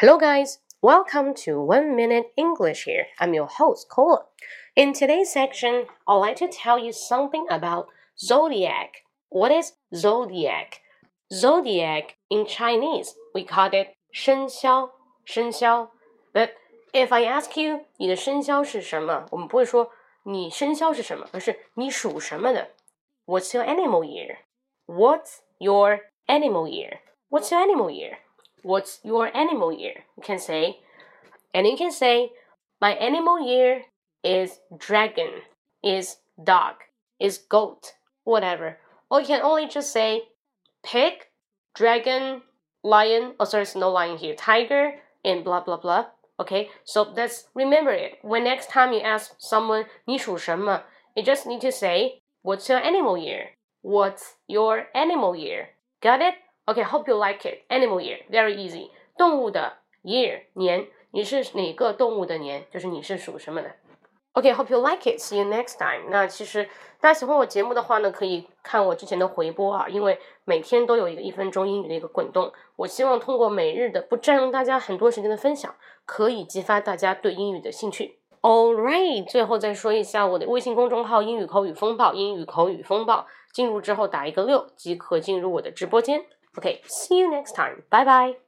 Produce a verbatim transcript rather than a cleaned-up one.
Hello guys, welcome to One Minute English here. I'm your host, Cola. In today's section, I'd like to tell you something about zodiac. What is zodiac? Zodiac in Chinese, we call it 生肖,生肖. But if I ask you, 你的生肖是什么？我们不会说你生肖是什么，而是你属什么的。What's your animal year? What's your animal year? What's your animal year?What's your animal year? You can say, and you can say, my animal year is dragon, is dog, is goat, whatever. Or you can only just say pig, dragon, lion, oh sorry, there's no lion here, tiger, and blah, blah, blah. Okay, so let's remember it. When next time you ask someone, 你属什么? You just need to say, what's your animal year? What's your animal year? Got it?Okay, hope you like it. Animal year, very easy. 动物的 year, 年，你是哪个动物的年？就是你是属什么的。Okay, hope you like it. See you next time. 那其实大家喜欢我节目的话呢，可以看我之前的回播啊，因为每天都有一个一分钟英语的一个滚动。我希望通过每日的不占用大家很多时间的分享，可以激发大家对英语的兴趣。Alright, 最后再说一下我的微信公众号英语口语风暴，英语口语风暴，进入之后打一个六即可进入我的直播间。Okay, see you next time. Bye bye.